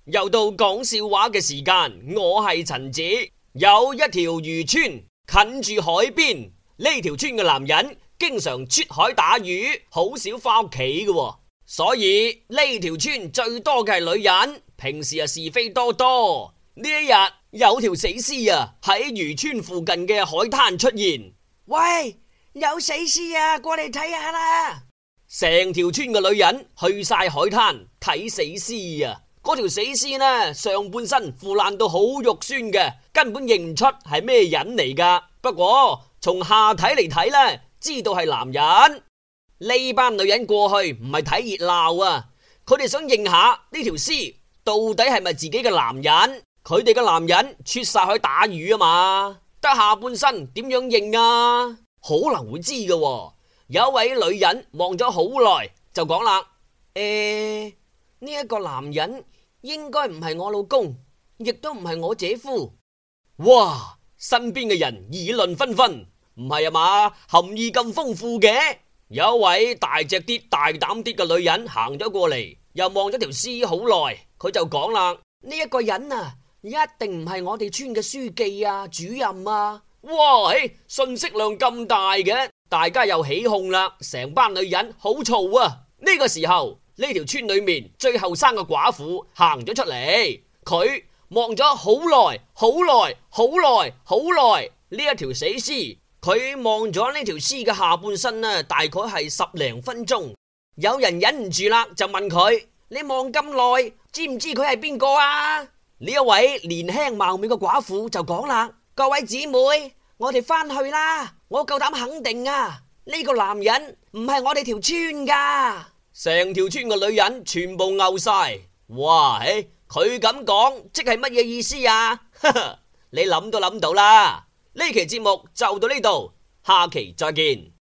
又到講笑話嘅時間，我係陳子。有一條漁村近住海邊，呢條村嘅男人經常出海打魚，好少翻屋企嘅，所以呢條村最多嘅係女人，平時是非多多。呢一日有條死屍喺漁村附近嘅海灘出現。 喂，有死屍啊，過嚟睇下啦！ 成條村嘅女人去晒海灘睇死屍。嗰條死屍呢，上半身腐爛到好肉酸嘅，根本認唔出係咩人嚟噶。不過從下體嚟睇呢，知道係男人。呢班女人過去唔係睇熱鬧啊，佢哋想認下呢條屍到底係咪自己嘅男人。佢哋嘅男人出晒去打魚啊嘛，得下半身點樣認啊？可能會知嘅。有一位女人望咗好耐就講啦：呢一個男人應該唔係我老公，亦都唔係我姐夫。哇！身邊嘅人議論紛紛，唔係啊嘛，含義咁豐富嘅。有一位大隻啲、大膽啲嘅女人行咗過嚟，又望咗條屍好耐，佢就講啦： 呢一個人啊，一定唔係我哋村嘅書記啊、主任啊。 哇！信息量咁大嘅，大家又起哄啦，成班女人好嘈啊！呢個時候，呢條村裏面最後生嘅寡婦行咗出嚟，佢望咗好耐，好耐，好耐，好耐呢一條死屍。佢望咗呢條屍嘅下半身呢，大概係10零分鐘。有人忍唔住啦，就問佢：你望咁耐，知唔知佢係邊個啊？呢一位年輕貌美嘅寡婦就講啦：各位姊妹，我哋翻去啦！我夠膽肯定啊，呢個男人唔係我哋條村噶。成條村嘅女人全部慪晒。哇！佢咁講即係乜嘢意思啊？你諗都諗到啦。呢期節目就到呢度，下期再見。